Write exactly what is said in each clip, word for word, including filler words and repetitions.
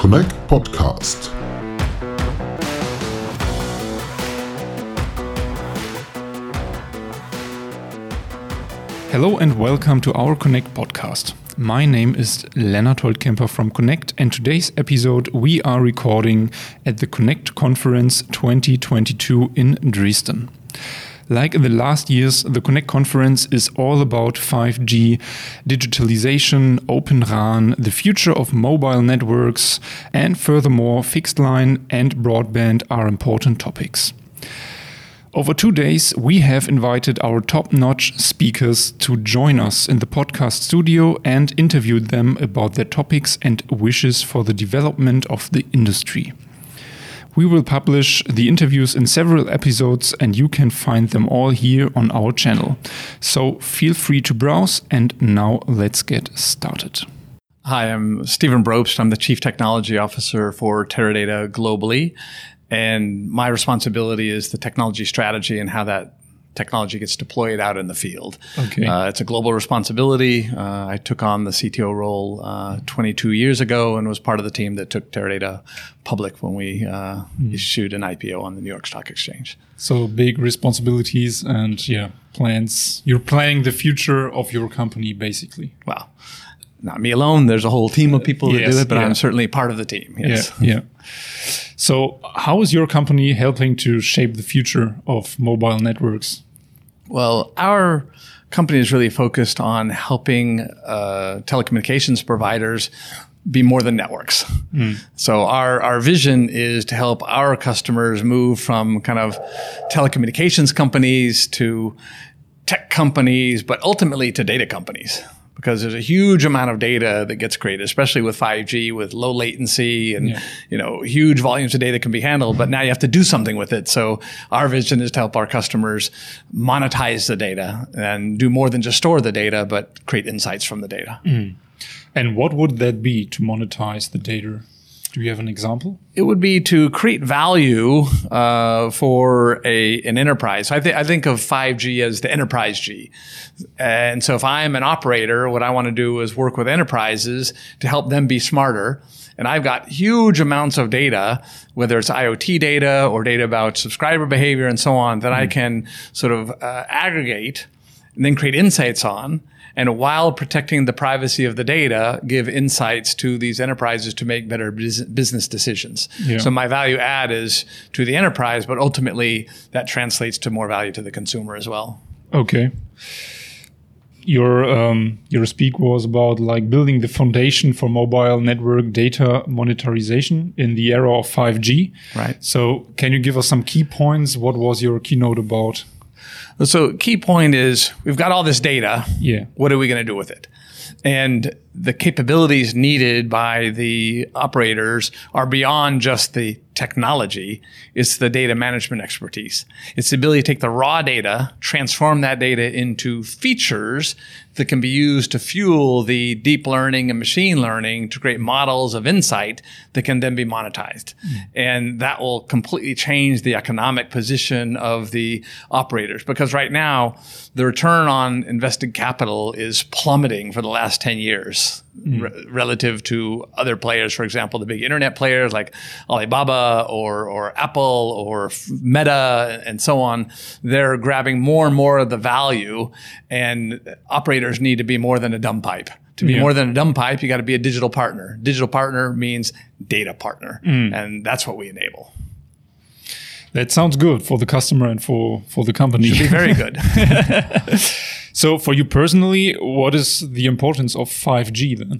Connect Podcast. Hello and welcome to our Connect podcast. My name is Lennart Holtkemper from Connect, and today's episode we are recording at the Connect Conference twenty twenty-two in Dresden. Like in the last years, the Connect Conference is all about five G, digitalization, Open R A N, the future of mobile networks, and furthermore, fixed line and broadband are important topics. Over two days, we have invited our top-notch speakers to join us in the podcast studio and interviewed them about their topics and wishes for the development of the industry. We will publish the interviews in several episodes and you can find them all here on our channel. So feel free to browse, and now let's get started. Hi, I'm Stephen Brobst. I'm the Chief Technology Officer for Teradata globally. And my responsibility is the technology strategy and how that technology gets deployed out in the field. Okay. Uh, it's a global responsibility. Uh, I took on the C T O role uh, twenty-two years ago and was part of the team that took Teradata public when we uh, mm. issued an I P O on the New York Stock Exchange. So big responsibilities and yeah, plans. You're planning the future of your company, basically. Well, not me alone. There's a whole team of people that yes, do it, but yeah. I'm certainly part of the team. Yes. Yeah, yeah. So how is your company helping to shape the future of mobile networks? Well, our company is really focused on helping uh, telecommunications providers be more than networks. Mm. So our, our vision is to help our customers move from kind of telecommunications companies to tech companies, but ultimately to data companies. Because there's a huge amount of data that gets created, especially with five G, with low latency and, yeah. you know, huge volumes of data can be handled, but now you have to do something with it. So our vision is to help our customers monetize the data and do more than just store the data, but create insights from the data. Mm. And what would that be to monetize the data? Do you have an example? It would be to create value uh, for a an enterprise. So I, th- I think of five G as the enterprise G. And so if I'm an operator, what I want to do is work with enterprises to help them be smarter. And I've got huge amounts of data, whether it's IoT data or data about subscriber behavior and so on, that mm-hmm. I can sort of uh, aggregate and then create insights on. And while protecting the privacy of the data, give insights to these enterprises to make better business decisions. Yeah. So my value add is to the enterprise, but ultimately that translates to more value to the consumer as well. Okay. Your um, your speak was about like building the foundation for mobile network data monetization in the era of five G. Right. So can you give us some key points? What was your keynote about? So key point is we've got all this data. Yeah. What are we going to do with it? And the capabilities needed by the operators are beyond just the technology. It's the data management expertise. It's the ability to take the raw data, transform that data into features that can be used to fuel the deep learning and machine learning to create models of insight that can then be monetized. Mm. And that will completely change the economic position of the operators. Because right now, the return on invested capital is plummeting for the last ten years. Mm. Re- relative to other players, for example, the big internet players like Alibaba or or Apple or Meta and so on. They're grabbing more and more of the value, and operators need to be more than a dumb pipe. To be yeah. more than a dumb pipe, you got to be a digital partner. Digital partner means data partner, mm. and that's what we enable. That sounds good for the customer and for, for the company. Should be very good. So for you personally, what is the importance of five G then?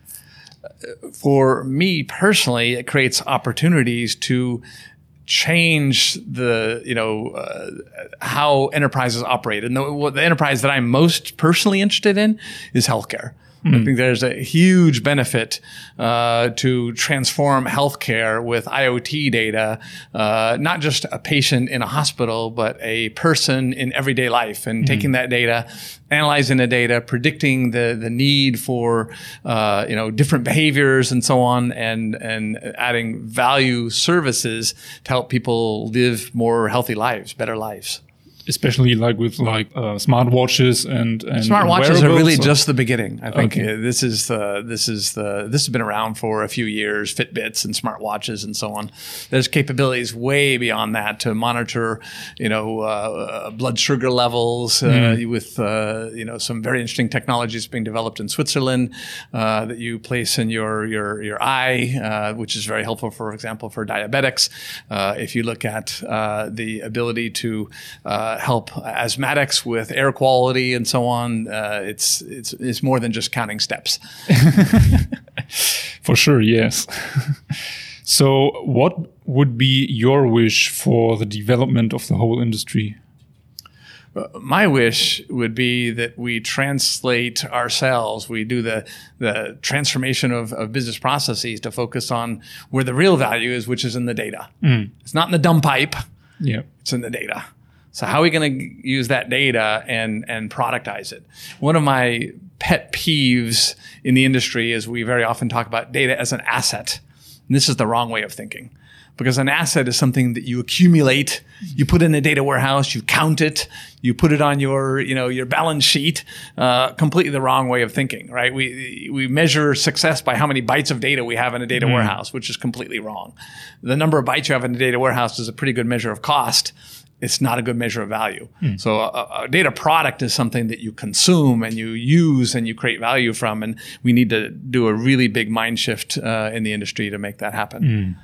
For me personally, it creates opportunities to change the, you know, uh, how enterprises operate. And the, the enterprise that I'm most personally interested in is healthcare. Mm. I think there's a huge benefit uh, to transform healthcare with IoT data, uh, not just a patient in a hospital, but a person in everyday life, and mm. taking that data, analyzing the data, predicting the the need for uh, you know different behaviors and so on, and and adding value services to help people live more healthy lives, better lives. especially like with like uh, smartwatches and, and smartwatches are really or? just the beginning. I think Okay. uh, this is the this is the this has been around for a few years. Fitbits and smartwatches and so on. There's capabilities way beyond that to monitor, you know, uh, blood sugar levels uh, Mm. with uh, you know some very interesting technologies being developed in Switzerland uh, that you place in your your your eye, uh, which is very helpful, for example, for diabetics. Uh, if you look at uh, the ability to uh, help asthmatics with air quality and so on, uh, it's it's it's more than just counting steps. For sure, yes. So what would be your wish for the development of the whole industry? My wish would be that we translate ourselves. We do the the transformation of, of business processes to focus on where the real value is, which is in the data. Mm. It's not in the dumb pipe. Yeah. It's in the data. So how are we going to use that data and and productize it? One of my pet peeves in the industry is we very often talk about data as an asset. And this is the wrong way of thinking. Because an asset is something that you accumulate, you put in a data warehouse, you count it, you put it on your, you know, your balance sheet. Uh, completely the wrong way of thinking, right? We we measure success by how many bytes of data we have in a data mm. warehouse, which is completely wrong. The number of bytes you have in a data warehouse is a pretty good measure of cost. It's not a good measure of value. Mm. So a, a data product is something that you consume and you use and you create value from. And we need to do a really big mind shift uh, in the industry to make that happen. Mm.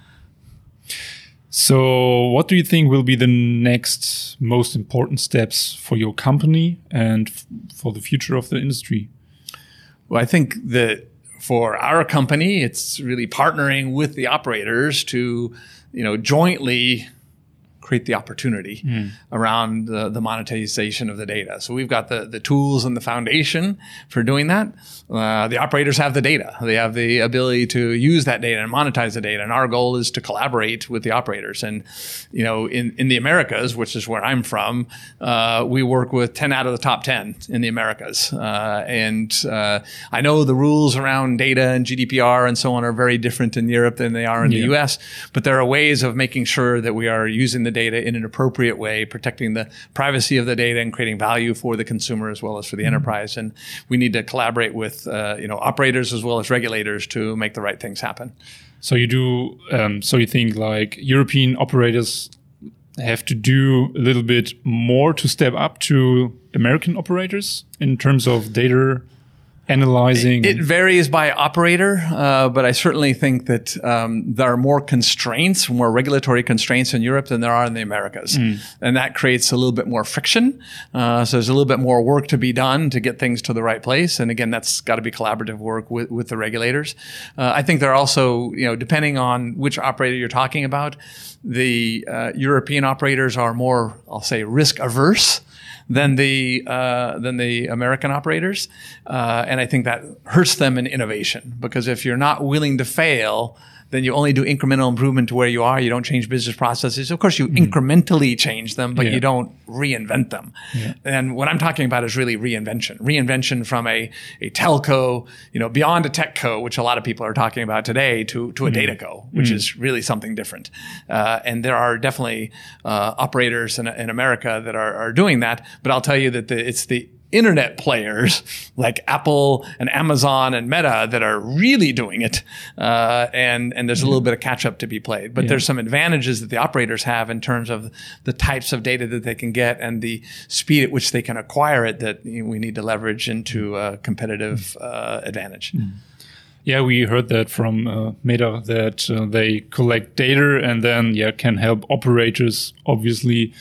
So what do you think will be the next most important steps for your company and f- for the future of the industry? Well, I think that for our company, it's really partnering with the operators to, you know, jointly create the opportunity mm. around the, the monetization of the data. So we've got the, the tools and the foundation for doing that. Uh, the operators have the data. They have the ability to use that data and monetize the data. And our goal is to collaborate with the operators. And, you know, in, in the Americas, which is where I'm from, uh, we work with ten out of the top ten in the Americas. Uh, and uh, I know the rules around data and G D P R and so on are very different in Europe than they are in yeah. the U S, but there are ways of making sure that we are using the data in an appropriate way, protecting the privacy of the data and creating value for the consumer as well as for the mm-hmm. enterprise. And we need to collaborate with, uh, you know, operators as well as regulators to make the right things happen. So you do, um, so you think like European operators have to do a little bit more to step up to American operators in terms of data analyzing? It, it varies by operator, uh, but I certainly think that um, there are more constraints, more regulatory constraints in Europe than there are in the Americas. Mm. And that creates a little bit more friction. Uh, so there's a little bit more work to be done to get things to the right place. And again, that's got to be collaborative work with, with the regulators. Uh, I think there are also, you know, depending on which operator you're talking about, the uh, European operators are more, I'll say, risk averse than the uh, than the American operators, uh, and I think that hurts them in innovation, because if you're not willing to fail, then you only do incremental improvement to where you are. You don't change business processes. Of course, you mm. incrementally change them, but yeah. you don't reinvent them. Yeah. And what I'm talking about is really reinvention. Reinvention from a, a telco, you know, beyond a tech co, which a lot of people are talking about today, to, to a mm. data co, which mm. is really something different. Uh, and there are definitely uh, operators in, in America that are, are doing that. But I'll tell you that the, it's the internet players like Apple and Amazon and Meta that are really doing it. Uh, and, and there's a little bit of catch up to be played, but yeah. there's some advantages that the operators have in terms of the types of data that they can get and the speed at which they can acquire it that you know, we need to leverage into a competitive uh, advantage. Mm. Yeah, we heard that from uh, Meta that uh, they collect data and then yeah can help operators obviously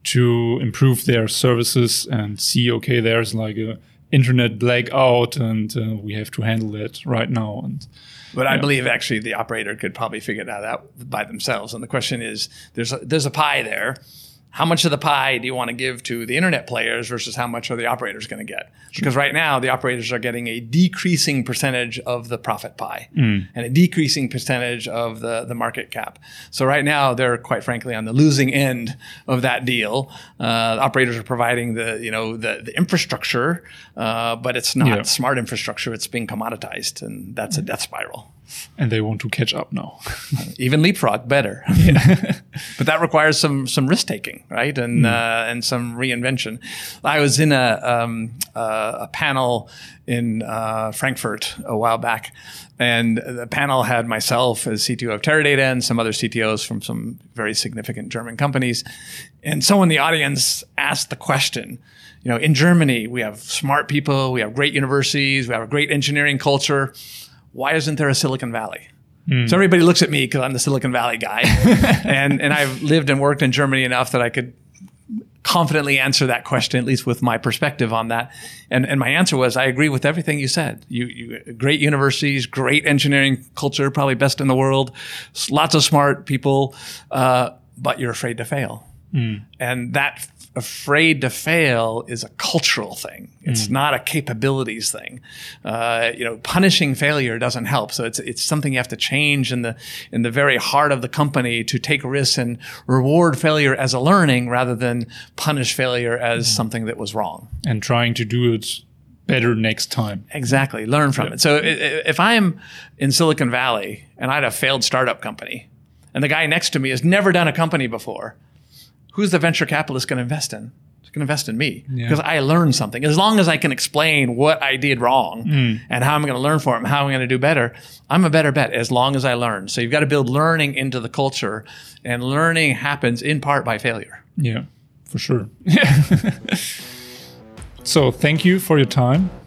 to improve their services and see, okay, there's like a internet blackout and uh, we have to handle that right now. And But yeah. I believe actually the operator could probably figure that out by themselves. And the question is, there's a, there's a pie there. How much of the pie do you want to give to the internet players versus how much are the operators going to get? Because right now the operators are getting a decreasing percentage of the profit pie mm. and a decreasing percentage of the, the market cap. So right now they're quite frankly on the losing end of that deal. Uh, the operators are providing the, you know, the, the infrastructure, uh, but it's not yeah. smart infrastructure. It's being commoditized, and that's a death spiral. And they want to catch up now. Even leapfrog, better. But that requires some some risk taking, right? And mm. uh, and some reinvention. I was in a um, uh, a panel in uh, Frankfurt a while back, and the panel had myself as C T O of Teradata and some other C T Os from some very significant German companies. And someone in the audience asked the question, you know, in Germany, we have smart people, we have great universities, we have a great engineering culture. Why isn't there a Silicon Valley? Mm. So everybody looks at me because I'm the Silicon Valley guy. and and I've lived and worked in Germany enough that I could confidently answer that question, at least with my perspective on that. And and my answer was, I agree with everything you said. You, you great universities, great engineering culture, probably best in the world, lots of smart people, uh, but you're afraid to fail. Mm. And that afraid to fail is a cultural thing. It's mm. not a capabilities thing. Uh, you know, punishing failure doesn't help. So it's it's something you have to change in the in the very heart of the company to take risks and reward failure as a learning rather than punish failure as mm. something that was wrong. And trying to do it better next time. Exactly. Learn from yeah. it. So if I'm in Silicon Valley and I had a failed startup company and the guy next to me has never done a company before, who's the venture capitalist going to invest in? It's going to invest in me because yeah. I learned something. As long as I can explain what I did wrong mm. and how I'm going to learn from it and how I'm going to do better, I'm a better bet as long as I learn. So you've got to build learning into the culture, and learning happens in part by failure. Yeah, for sure. So thank you for your time.